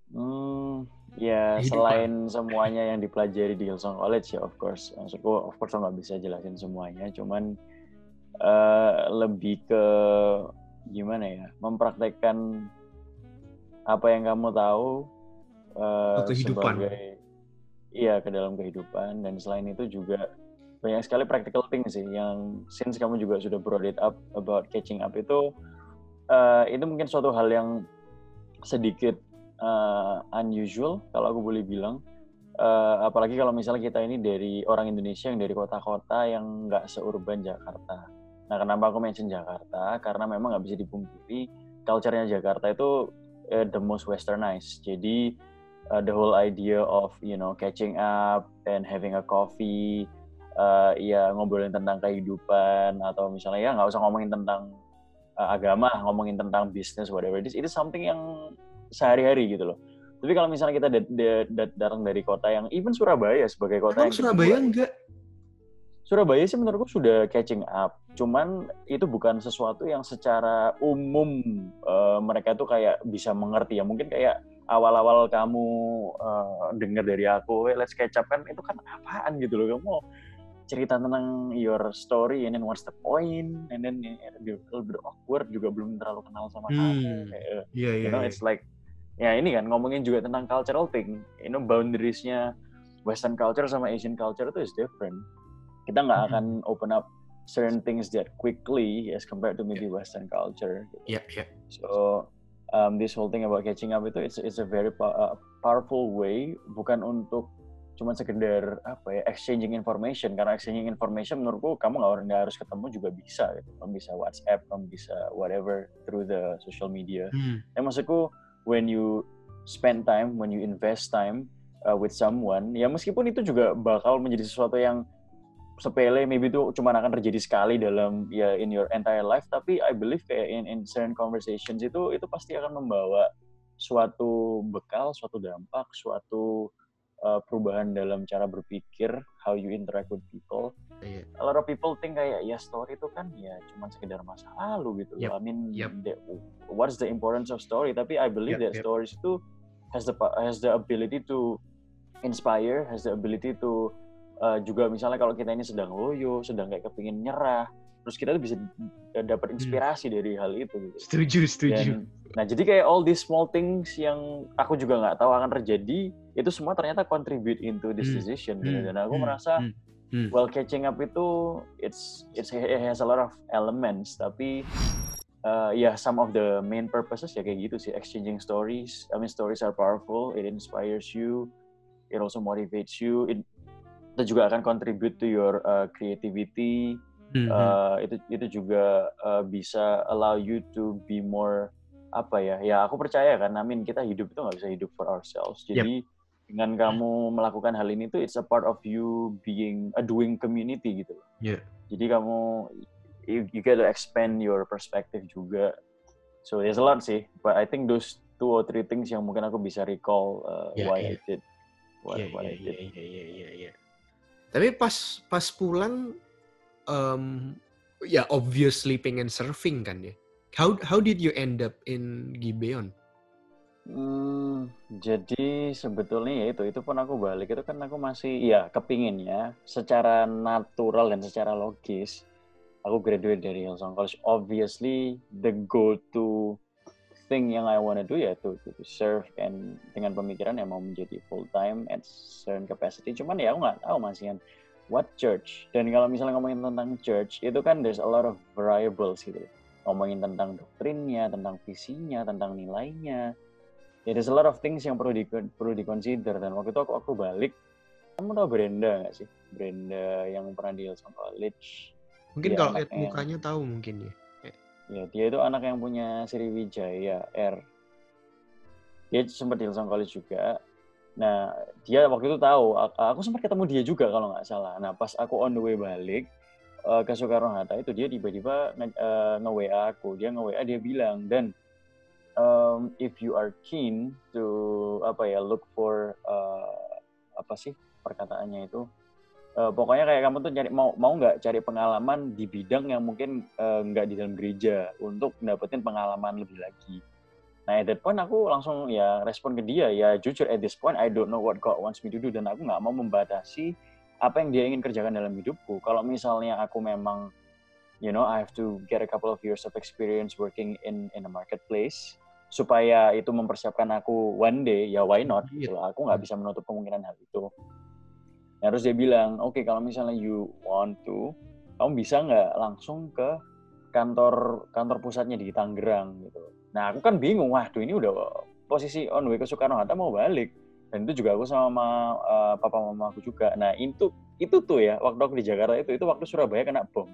Ya selain semuanya yang dipelajari di Hillsong College ya of course nggak bisa jelasin semuanya, cuman lebih ke gimana ya, mempraktekkan apa yang kamu tahu sebagai ke dalam kehidupan. Dan selain itu juga banyak sekali practical things sih yang since kamu juga sudah brought it up about catching up itu mungkin suatu hal yang sedikit unusual kalau aku boleh bilang, apalagi kalau misalnya kita ini dari orang Indonesia yang dari kota-kota yang nggak seurban Jakarta. Nah, kenapa aku mention Jakarta? Karena memang nggak bisa dipungkiri culture-nya Jakarta itu the most westernized. Jadi the whole idea of catching up and having a coffee, ngobrolin tentang kehidupan atau misalnya ya nggak usah ngomongin tentang agama, ngomongin tentang business whatever it is, itu something yang sehari-hari gitu loh. Tapi kalau misalnya kita datang dari kota yang even Surabaya sebagai kota yang Surabaya enggak? Surabaya sih menurutku sudah catching up. Cuman itu bukan sesuatu yang secara umum mereka tuh kayak bisa mengerti ya. Mungkin kayak awal-awal kamu dengar dari aku, let's catch up kan, itu kan apaan gitu loh. Kamu cerita tentang your story and then what's the point, and then a little bit awkward, juga belum terlalu kenal sama kamu. It's like ya ini kan ngomongin juga tentang cultural thing. Boundariesnya Western culture sama Asian culture itu is different. Kita nggak akan open up certain things that quickly as compared to maybe Western culture. Yeah. So this whole thing about catching up itu it's a very powerful way, bukan untuk cuma sekedar exchanging information, karena exchanging information menurutku kamu nggak harus ketemu juga bisa gitu. Kamu bisa WhatsApp, kamu bisa whatever through the social media. Maksudku when you spend time, when you invest time with someone, ya meskipun itu juga bakal menjadi sesuatu yang sepele, maybe itu cuma akan terjadi sekali dalam in your entire life, tapi I believe kayak in certain conversations itu pasti akan membawa suatu bekal, suatu dampak, suatu perubahan dalam cara berpikir, how you interact with people. A lot of people think kayak story itu kan cuma sekedar masa lalu gitu. I mean, what's the importance of story? Tapi I believe that stories itu has the ability to inspire, has the ability to juga misalnya kalau kita ini sedang loyo, sedang kayak kepingin nyerah, terus kita tuh bisa dapat inspirasi dari hal itu gitu. Setuju. Nah jadi kayak all these small things yang aku juga nggak tahu akan terjadi, itu semua ternyata contribute into this decision gitu. Dan aku merasa well, catching up itu it has a lot of elements, tapi some of the main purposes kayak gitu sih, exchanging stories. I mean, stories are powerful, it inspires you, it also motivates you, itu juga akan contribute to your creativity. Itu juga bisa allow you to be more aku percaya kan, kita hidup itu nggak bisa hidup for ourselves. Jadi dengan kamu melakukan hal ini tuh it's a part of you being a doing community gitu. Jadi kamu you get to expand your perspective juga. So there's a lot sih, but I think those 2 or 3 things yang mungkin aku bisa recall why I did what I did. Tapi pas pulang obviously pengen surfing kan ya. How did you end up in Gibeon? Jadi sebetulnya itu pun aku balik itu kan aku masih kepinginnya secara natural dan secara logis aku graduate dari Hillsong College. Obviously the go-to thing yang I wanna do to serve, and dengan pemikiran yang mau menjadi full time at certain capacity. Cuman aku nggak tahu masih what church. Dan kalau misalnya ngomongin tentang church itu kan there's a lot of variables gitu. Ngomongin tentang doktrinnya, tentang visinya, tentang nilainya. There's a lot of things yang perlu di-consider. Dan waktu itu aku balik. Kamu tahu Brenda nggak sih? Brenda yang pernah di Hillsong College. Mungkin kalau lihat mukanya tahu mungkin ya. Ya, dia itu anak yang punya Sriwijaya Air. Dia sempat di Hillsong College juga. Nah, dia waktu itu tahu. Aku sempat ketemu dia juga kalau nggak salah. Nah, pas aku on the way balik ke Soekarno-Hatta itu dia tiba-tiba nge-WA aku. Dia nge-WA, dia bilang, Dan, if you are keen to look for perkataannya itu, pokoknya kayak kamu tuh mau nggak cari pengalaman di bidang yang mungkin nggak di dalam gereja untuk dapetin pengalaman lebih lagi. Nah, at that point aku langsung respon ke dia, jujur at this point I don't know what God wants me to do, dan aku nggak mau membatasi apa yang dia ingin kerjakan dalam hidupku. Kalau misalnya aku memang, I have to get a couple of years of experience working in a marketplace supaya itu mempersiapkan aku one day, why not? Gitu. Aku nggak bisa menutup kemungkinan hal itu. Nah, terus dia bilang, oke, kalau misalnya you want to, kamu bisa nggak langsung ke kantor pusatnya di Tangerang gitu. Nah, aku kan bingung, waduh ini udah posisi on way ke Soekarno-Hatta mau balik. Dan itu juga aku sama papa mama aku juga. Nah, itu tuh waktu aku di Jakarta itu waktu Surabaya kena bom.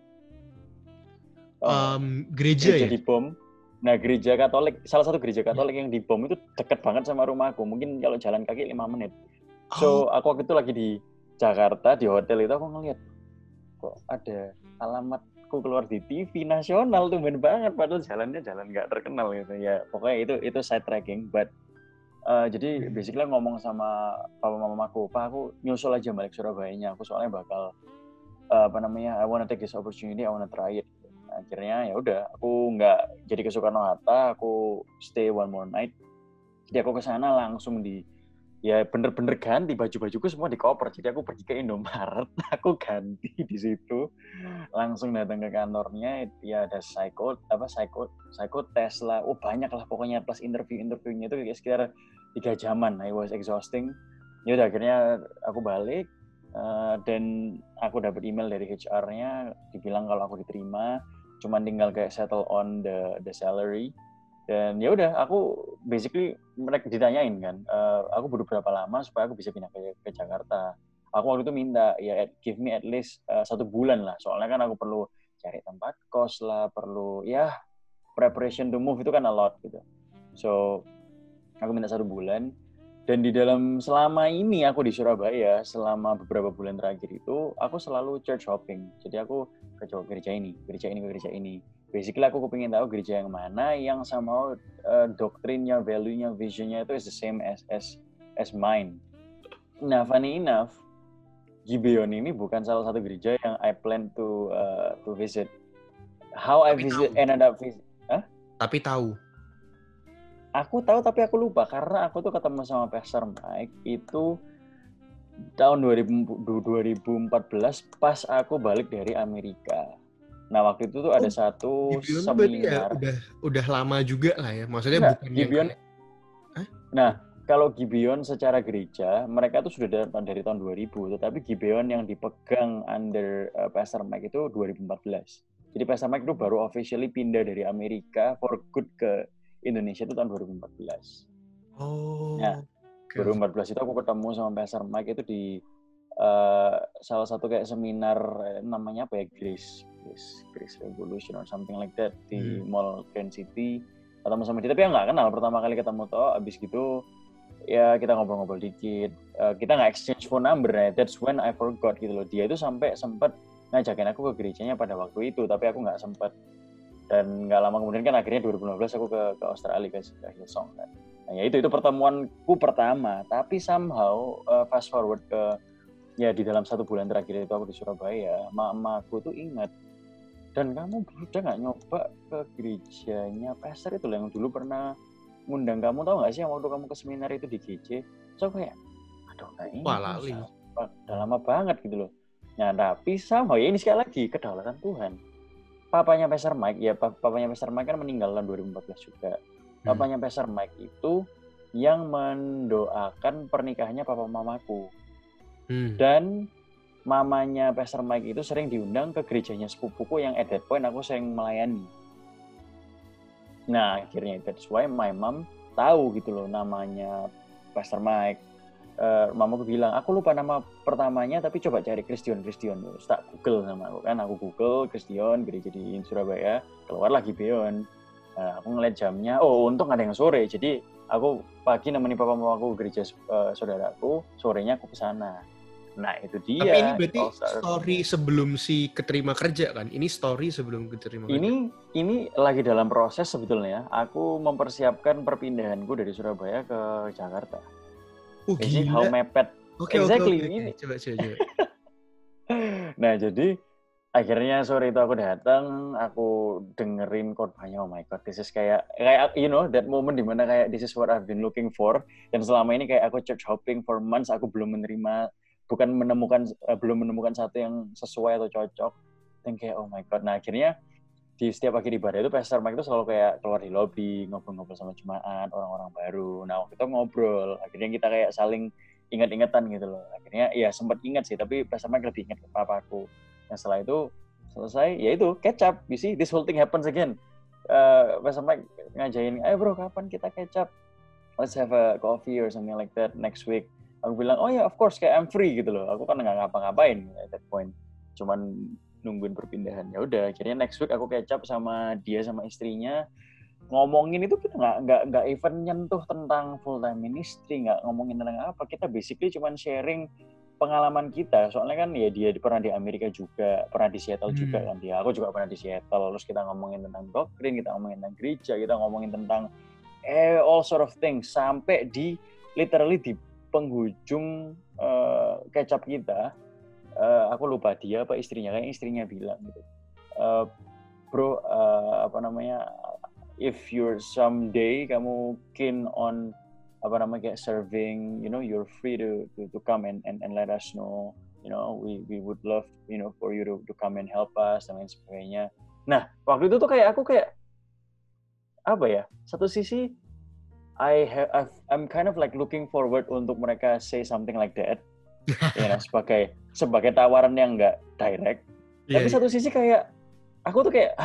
Gereja di bom. Nah, gereja Katolik, salah satu gereja Katolik yang dibom itu deket banget sama rumahku. Mungkin kalau jalan kaki 5 menit. So, aku waktu itu lagi di Jakarta, di hotel itu aku ngeliat, kok ada alamatku keluar di TV nasional, tumben banget, padahal jalannya jalan nggak terkenal gitu. Ya, pokoknya itu side tracking, but jadi basically ngomong sama papa mamaku, Pak, aku nyusul aja balik Surabaya-nya, aku soalnya bakal I wanna take this opportunity, I wanna try it. Akhirnya ya udah, aku nggak jadi ke Soekarno-Hatta, aku stay one more night. Jadi aku ke sana langsung bener-bener ganti baju-bajuku semua di koper. Jadi aku pergi ke Indomaret, aku ganti di situ, langsung datang ke kantornya. Ada psychotest lah, banyak lah pokoknya, plus interviewnya itu kayak sekitar 3 jaman. I was exhausting. Ya udah, akhirnya aku balik. Dan aku dapat email dari HR-nya dibilang kalau aku diterima, cuman tinggal kayak settle on the salary. Dan ya udah, aku basically mereka ditanyain kan, aku butuh berapa lama supaya aku bisa pindah ke Jakarta. Aku waktu itu minta ya give me at least 1 bulan lah, soalnya kan aku perlu cari tempat kos lah, perlu ya preparation to move itu kan a lot gitu. So aku minta 1 bulan. Dan di dalam selama ini aku di Surabaya, selama beberapa bulan terakhir itu, aku selalu church hopping. Jadi aku ke gereja ini, ke gereja ini. Basically aku kepingin tahu gereja yang mana yang sama doktrinnya, value-nya, vision-nya itu is the same as mine. Nah, funny enough, Gibeon ini bukan salah satu gereja yang I plan to visit. How I visit, ended up visit. Huh? Tapi tahu. Aku tahu tapi aku lupa karena aku tuh ketemu sama Pastor Mike itu tahun 2014 pas aku balik dari Amerika. Nah waktu itu tuh ada satu Gibeon seminar. Ya udah lama juga lah ya. Maksudnya Enggak, bukan Gibeon. Hah? Nah kalau Gibeon secara gereja mereka tuh sudah dari tahun 2000, tetapi Gibeon yang dipegang under Pastor Mike itu 2014. Jadi Pastor Mike itu baru officially pindah dari Amerika for good ke Indonesia itu tahun 2014. Oh. Nah, 2014 itu aku ketemu sama Pastor Mike itu di salah satu kayak seminar namanya apa ya, Grace Revolution or something like that di Mall Grand City. Ketemu sama dia, tapi ya nggak kenal. Pertama kali ketemu toh, abis gitu ya kita ngobrol-ngobrol dikit. Kita nggak exchange phone number ya. That's when I forgot gitu loh. Dia itu sampai sempat ngajakin aku ke gerejanya pada waktu itu, tapi aku nggak sempat. Dan nggak lama kemudian kan akhirnya 2015 aku ke Australia ke Hillsong kan. Nah ya itu pertemuanku pertama. Tapi somehow fast forward ke ya di dalam 1 bulan terakhir itu aku di Surabaya, mamaku tuh ingat. Dan kamu udah nggak nyoba ke gerejanya Pastor itu yang dulu pernah ngundang kamu, tahu nggak sih yang waktu kamu ke seminar itu di GC? So kayak, aduh nggak ingat. Wah, lali. Udah lama banget gitu loh. Nah tapi somehow ya ini sekali lagi kedaulatan Tuhan. Papanya Pastor Mike, ya papanya Pastor Mike kan meninggal tahun 2014 juga. Papanya Pastor Mike itu yang mendoakan pernikahannya papa mamaku. Dan mamanya Pastor Mike itu sering diundang ke gerejanya sepupuku yang at that point aku sering melayani. Nah akhirnya that's why my mom tahu gitu loh namanya Pastor Mike. Mamaku bilang, aku lupa nama pertamanya tapi coba cari Christian. Terus tak Google nama aku kan, aku Google Christian, gereja di Surabaya, keluar lagi Gibeon. Aku ngeliat jamnya, untung ada yang sore, jadi aku pagi nemenin papa mamaku gereja saudaraku, sorenya aku kesana. Nah itu dia. Tapi ini berarti story sebelum si keterima kerja kan? Ini story sebelum keterima kerja? Ini lagi dalam proses sebetulnya. Aku mempersiapkan perpindahanku dari Surabaya ke Jakarta. Gila. How mepet. Exactly. Ini. Coba. Nah, jadi akhirnya sore itu aku datang, aku dengerin khotbahnya. Oh my god, this is kayak you know that moment dimana kayak this is what I've been looking for. Dan selama ini kayak aku church hopping for months, aku belum menemukan satu yang sesuai atau cocok. Dan kayak oh my god. Nah, akhirnya di setiap akhir ibadah itu Pastor Mike itu selalu kayak keluar di lobby, ngobrol-ngobrol sama jemaat, orang-orang baru. Nah, waktu itu ngobrol, akhirnya kita kayak saling ingat-ingatan gitu loh. Akhirnya ya sempat ingat sih, tapi Pastor Mike lebih ingat ke papaku. Nah, setelah itu selesai, ya itu catch up. You see, this whole thing happens again. Pastor Mike ngajain, ayo bro, kapan kita catch up? Let's have a coffee or something like that next week. Aku bilang, oh ya, of course, kayak I'm free gitu loh. Aku kan nggak ngapa-ngapain at that point. Cuman nungguin perpindahan. Ya udah, akhirnya next week aku catch up sama dia sama istrinya. Ngomongin itu kita nggak even nyentuh tentang full time ministry, nggak ngomongin tentang apa. Kita basically cuman sharing pengalaman kita. Soalnya kan ya dia pernah di Amerika juga, pernah di Seattle juga kan dia. Aku juga pernah di Seattle. Terus kita ngomongin tentang doktrin, kita ngomongin tentang gereja, kita ngomongin tentang all sort of things sampai di literally di penghujung catch up kita. Aku lupa dia apa istrinya, kayak istrinya bilang gitu, bro, if you're someday kamu keen on kayak serving, you know, you're free to come and let us know, you know, we would love, you know, for you to come and help us dan lain sebagainya. Nah waktu itu tuh kayak aku kayak apa ya, satu sisi I'm kind of like looking forward untuk mereka say something like that. Ya, sebagai tawaran yang nggak direct, tapi satu sisi kayak aku tuh kayak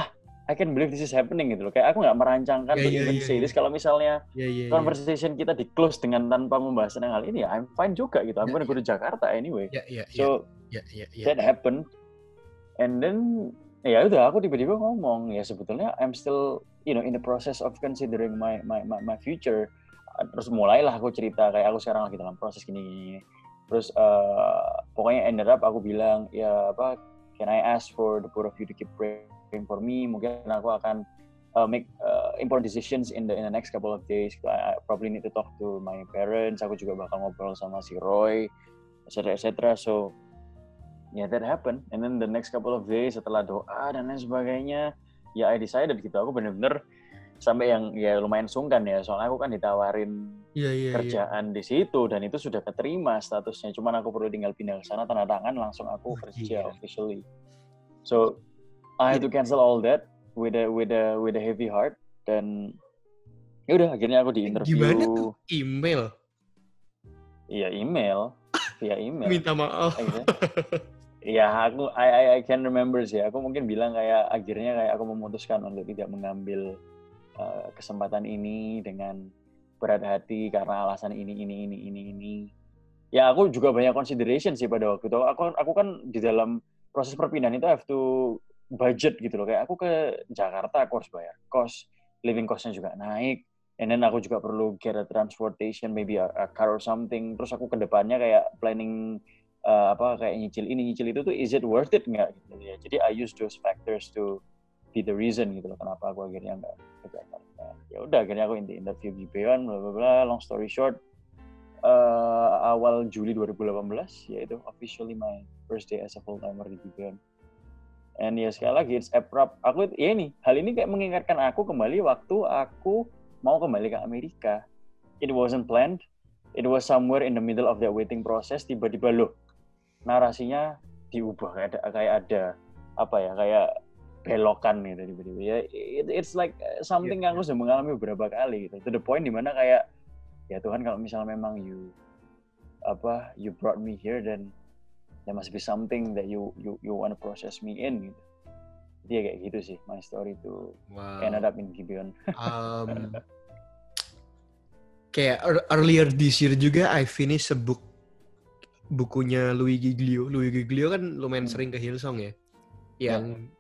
I can believe this is happening gitu loh. Kayak aku nggak merancangkan to even say this. Kalau misalnya conversation kita di close dengan tanpa membahas tentang hal ini, ya I'm fine juga gitu. I'm gonna go to Jakarta anyway. So that happened. And then ya udah aku tiba-tiba ngomong ya sebetulnya I'm still in the process of considering my future. Terus mulailah aku cerita kayak aku sekarang lagi dalam proses gini. Terus pokoknya ended up aku bilang ya apa, can I ask for the both of you to keep praying for me? Mungkin aku akan make important decisions in the next couple of days. I probably need to talk to my parents. Aku juga bakal ngobrol sama si Roy, etc. So yeah, that happened. And then the next couple of days setelah doa dan lain sebagainya, ya I decided gitu. Aku bener-bener sampai yang ya lumayan sungkan ya. Soalnya aku kan ditawarin kerjaan di situ dan itu sudah keterima statusnya. Cuman aku perlu tinggal pindah ke sana, tanda tangan, langsung aku kerja officially. So I had to cancel all that with a heavy heart dan ya udah akhirnya aku di interview. Gimana tuh? Email? Iya email, via email. Minta maaf. Ya aku I can remember sih. Aku mungkin bilang kayak akhirnya kayak aku memutuskan untuk tidak mengambil kesempatan ini dengan berat hati karena alasan ini. Ya aku juga banyak consideration sih pada waktu itu. Aku kan di dalam proses perpindahan itu have to budget gitu loh. Kayak aku ke Jakarta aku harus bayar kos, living costnya juga naik. And then aku juga perlu get a transportation, maybe a car or something. Terus aku ke depannya kayak planning kayak nyicil ini nyicil itu tuh, is it worth it nggak gitu ya. Jadi I use those factors to be the reason gitu loh kenapa aku akhirnya nggak ke Jakarta. Ya udah akhirnya aku interview Gibeon, bla bla bla. Long story short, awal Juli 2018 yaitu officially my first day as a full timer di Gibeon. And ya sekali lagi it's abrupt. Hal ini kayak mengingatkan aku kembali waktu aku mau kembali ke Amerika. It wasn't planned. It was somewhere in the middle of that waiting process. Tiba-tiba loh, narasinya diubah kayak ada kayak belokan gitu tiba-tiba. Ya, it's like something yang aku sudah mengalami beberapa kali gitu. To the point dimana kayak ya Tuhan, kalau misalnya memang you brought me here, then there must be something that you want to process me in gitu. Jadi ya kayak gitu sih my story to ended up in Gibeon. Kayak earlier this year juga I finished bukunya Louis Giglio. Louis Giglio kan lumayan sering ke Hillsong ya. Yang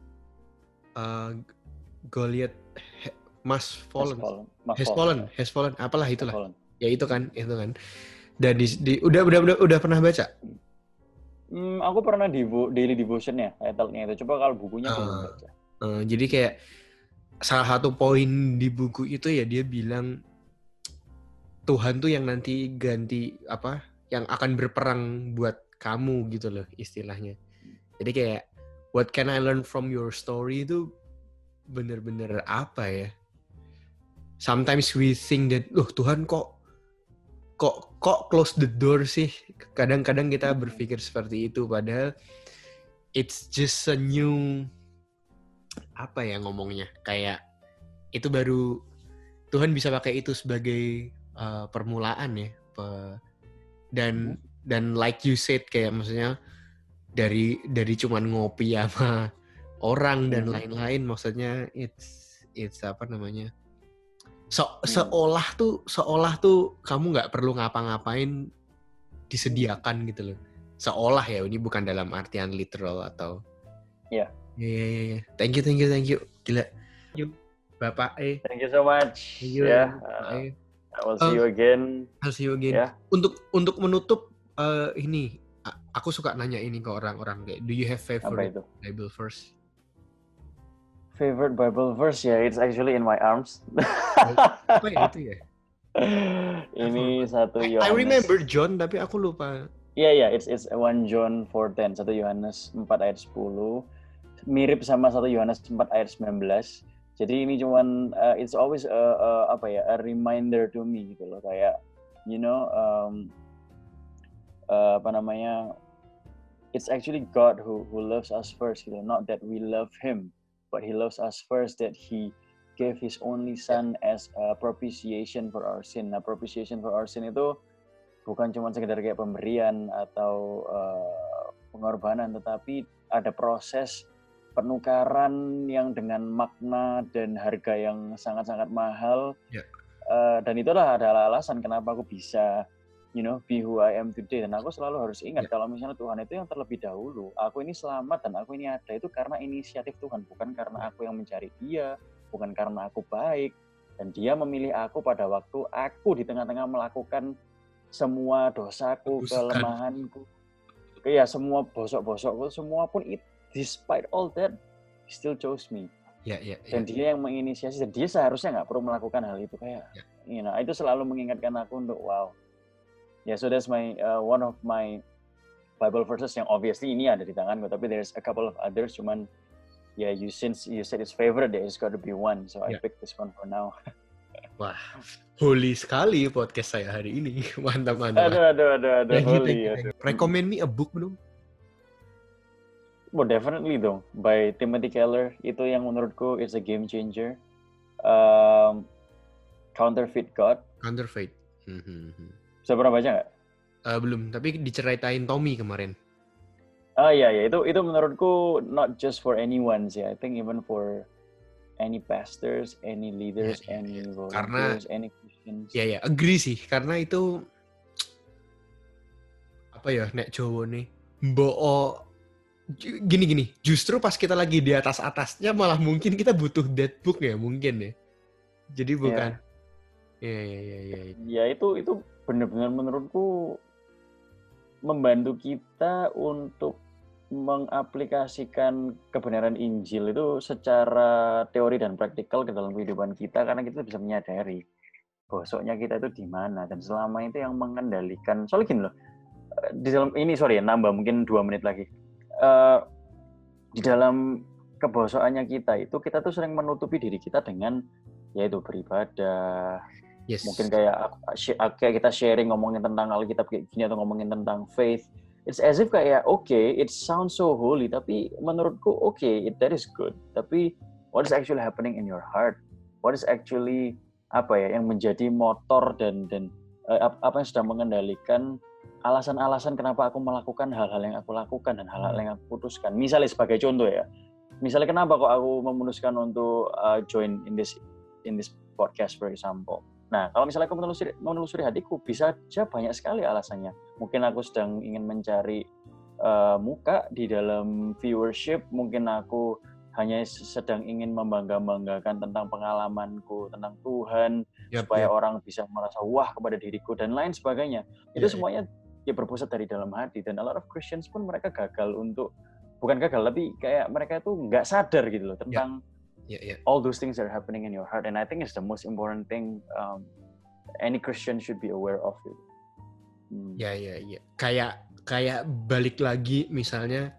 Goliath has fallen, apalah itulah. Ya itu kan. Dan udah pernah baca? Aku pernah di daily devotion-nya, title-nya itu. Coba kalau bukunya belum baca. Jadi kayak salah satu poin di buku itu ya dia bilang Tuhan tuh yang nanti ganti yang akan berperang buat kamu gitu loh istilahnya. Jadi kayak what can I learn from your story itu bener-bener apa ya? Sometimes we think that Tuhan kok close the door sih. Kadang-kadang kita berpikir seperti itu padahal it's just a new ngomongnya, kayak itu baru Tuhan bisa pakai itu sebagai permulaan ya, dan like you said kayak maksudnya dari cuman ngopi sama orang dan lain-lain, maksudnya it's seolah tuh kamu nggak perlu ngapa-ngapain, disediakan gitu loh, seolah ya, ini bukan dalam artian literal atau ya. Thank you gila Bapak thank you so much. Thank you. I will see you again. I'll see you again. Yeah. Untuk menutup ini, aku suka nanya ini ke orang-orang kayak, do you have favorite Bible verse? Favorite Bible verse ya, it's actually in my arms. Apa ya itu ya? Ini 1 Yohanes. I remember John tapi aku lupa. Yeah, it's 1 John 4:10, 1 Yohanes 4 ayat 10. Mirip sama 1 Yohanes 4 ayat 19. Jadi ini cuman it's always a reminder to me gitu loh, kayak it's actually God who loves us first gitu, not that we love him, but he loves us first, that he gave his only son as a propitiation for our sin. Nah, propitiation for our sin itu bukan cuma sekedar kayak pemberian atau pengorbanan, tetapi ada proses penukaran yang dengan makna dan harga yang sangat-sangat mahal. Ya. Dan itulah adalah alasan kenapa aku bisa be who I am today. Dan aku selalu harus ingat kalau misalnya Tuhan itu yang terlebih dahulu. Aku ini selamat dan aku ini ada itu karena inisiatif Tuhan, bukan karena aku yang mencari Dia, bukan karena aku baik. Dan Dia memilih aku pada waktu aku di tengah-tengah melakukan semua dosaku, kelemahanku, semua bosok-bosokku, semua pun despite all that, He still chose me. Dan Dia yang menginisiasi, dan Dia seharusnya nggak perlu melakukan hal itu itu selalu mengingatkan aku untuk wow. So that's my one of my Bible verses yang obviously ini ada di tanganku, tapi there's a couple of others, cuman since you said it's favorite, there's got to be one, so I picked this one for now. Wah, holy sekali podcast saya hari ini. Mantap. Aduh, holy. Recommend me a book dong. Well, definitely dong. By Timothy Keller, itu yang menurutku is a game changer. Counterfeit God. Counterfeit. Bisa pernah baca nggak? Belum, tapi diceritain Tommy kemarin. Itu menurutku not just for anyone sih. I think even for any pastors, any leaders, any volunteers, any Christians. Agree sih. Karena itu apa ya, nek Jawa nih, mbok gini. Justru pas kita lagi di atasnya malah mungkin kita butuh that book ya, mungkin ya. Jadi bukan. Itu benar-benar menurutku membantu kita untuk mengaplikasikan kebenaran Injil itu secara teori dan praktikal ke dalam kehidupan kita, karena kita bisa menyadari bosoknya kita itu di mana, dan selama itu yang mengendalikan. Soalnya gini loh, di dalam ini nambah mungkin 2 menit lagi. Di dalam kebosokannya kita tuh sering menutupi diri kita dengan yaitu beribadah. Mungkin kayak kita sharing ngomongin tentang Alkitab kayak gini atau ngomongin tentang faith. It's as if kayak it sounds so holy, tapi menurutku that is good. Tapi what is actually happening in your heart? What is actually yang menjadi motor dan apa yang sudah mengendalikan alasan-alasan kenapa aku melakukan hal-hal yang aku lakukan dan hal-hal yang aku putuskan. Misalnya sebagai contoh misalnya kenapa kok aku memutuskan untuk join in this podcast for example. Nah, kalau misalnya aku menelusuri hatiku, bisa aja banyak sekali alasannya. Mungkin aku sedang ingin mencari muka di dalam viewership, mungkin aku hanya sedang ingin membangga-banggakan tentang pengalamanku, tentang Tuhan, supaya orang bisa merasa wah kepada diriku, dan lain sebagainya. Itu semuanya berpusat dari dalam hati, dan a lot of Christians pun mereka bukan gagal, tapi kayak mereka itu nggak sadar gitu loh tentang all those things that are happening in your heart, and I think it's the most important thing any Christian should be aware of it. Kayak balik lagi misalnya,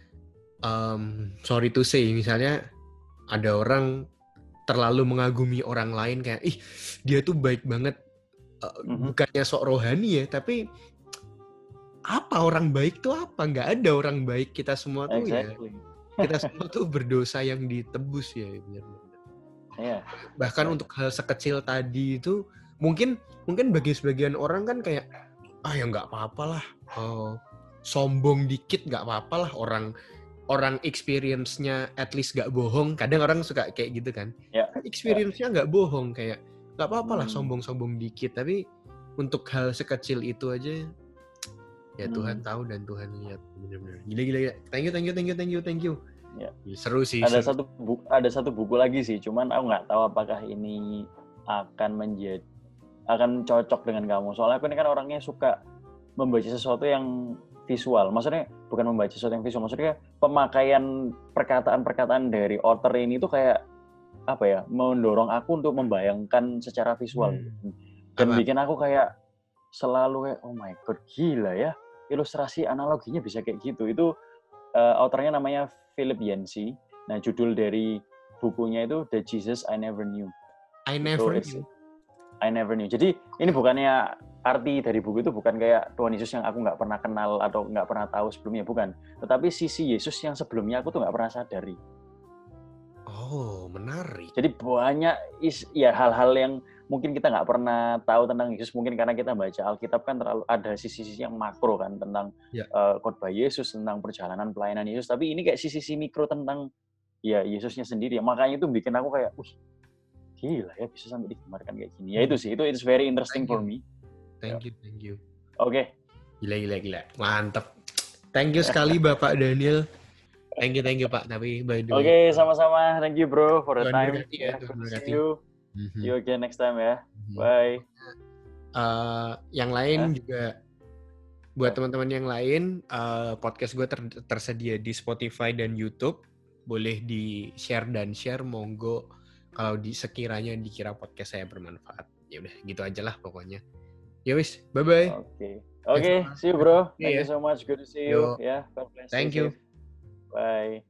sorry to say, misalnya ada orang terlalu mengagumi orang lain kayak dia tuh baik banget, bukannya sok rohani ya, tapi apa orang baik tuh apa? Nggak ada orang baik, kita semua tuh kita semua tuh berdosa yang ditebus ya, benar. Bahkan untuk hal sekecil tadi itu mungkin bagi sebagian orang kan kayak ya nggak apa-apa lah, sombong dikit nggak apa-apa lah, orang experience-nya at least nggak bohong. Kadang orang suka kayak gitu kan, experience-nya nggak bohong, kayak nggak apa-apa lah sombong dikit. Tapi untuk hal sekecil itu aja Tuhan tahu dan Tuhan lihat. Benar-benar gila. Thank you. Seru sih. Ada satu buku lagi sih, cuman aku nggak tahu apakah ini akan cocok dengan kamu. Soalnya aku ini kan orangnya suka membaca sesuatu yang visual. Maksudnya bukan membaca sesuatu yang visual, maksudnya pemakaian perkataan-perkataan dari author ini tuh kayak mendorong aku untuk membayangkan secara visual. Dan bikin aku kayak selalu kayak oh my god, gila ya, ilustrasi analoginya bisa kayak gitu. Itu authornya namanya Philip Yancey. Nah, judul dari bukunya itu The Jesus I Never Knew. I never knew. Jadi ini bukannya arti dari buku itu bukan kayak Tuhan Yesus yang aku nggak pernah kenal atau nggak pernah tahu sebelumnya, bukan. Tetapi sisi Yesus yang sebelumnya aku tuh nggak pernah sadari. Oh, menarik. Jadi banyak hal-hal yang mungkin kita nggak pernah tahu tentang Yesus, mungkin karena kita baca Alkitab kan terlalu ada sisi-sisi yang makro kan tentang khotbah Yesus, tentang perjalanan pelayanan Yesus. Tapi ini kayak sisi-sisi mikro tentang ya Yesusnya sendiri. Makanya itu bikin aku kayak, gila ya bisa sampai digambarkan kayak gini. Ya itu sih, itu it's very interesting for me. Thank you. Oke. Gila. Mantap. Thank you sekali Bapak Daniel. Thank you Pak. Tapi by the way. Oke, sama-sama. Thank you bro for the Tuhan time. berkati ya, Good Tuhan to see berkati. you. See you again next time ya. Bye. Yang lain juga buat teman-teman yang lain, podcast gue tersedia di Spotify dan YouTube. Boleh di-share dan share, monggo kalau sekiranya dikira podcast saya bermanfaat. Ya udah, gitu aja lah pokoknya. Ya wis, bye-bye. Oke, see you bro. Thank Yeah. you so much. Good to see you. Yeah, God bless. Thank you. Bye.